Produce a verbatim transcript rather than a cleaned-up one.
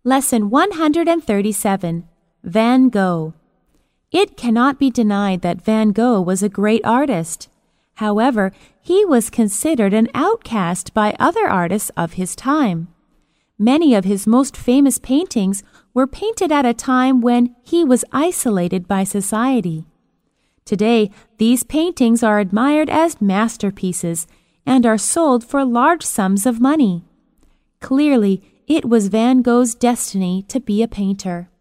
Lesson one hundred thirty-seven. Van Gogh. It cannot be denied that Van Gogh was a great artist. However, he was considered an outcast by other artists of his time. Many of his most famous paintings were painted at a time when he was isolated by society. Today, these paintings are admired as masterpieces and are sold for large sums of money. Clearly, it was Van Gogh's destiny to be a painter.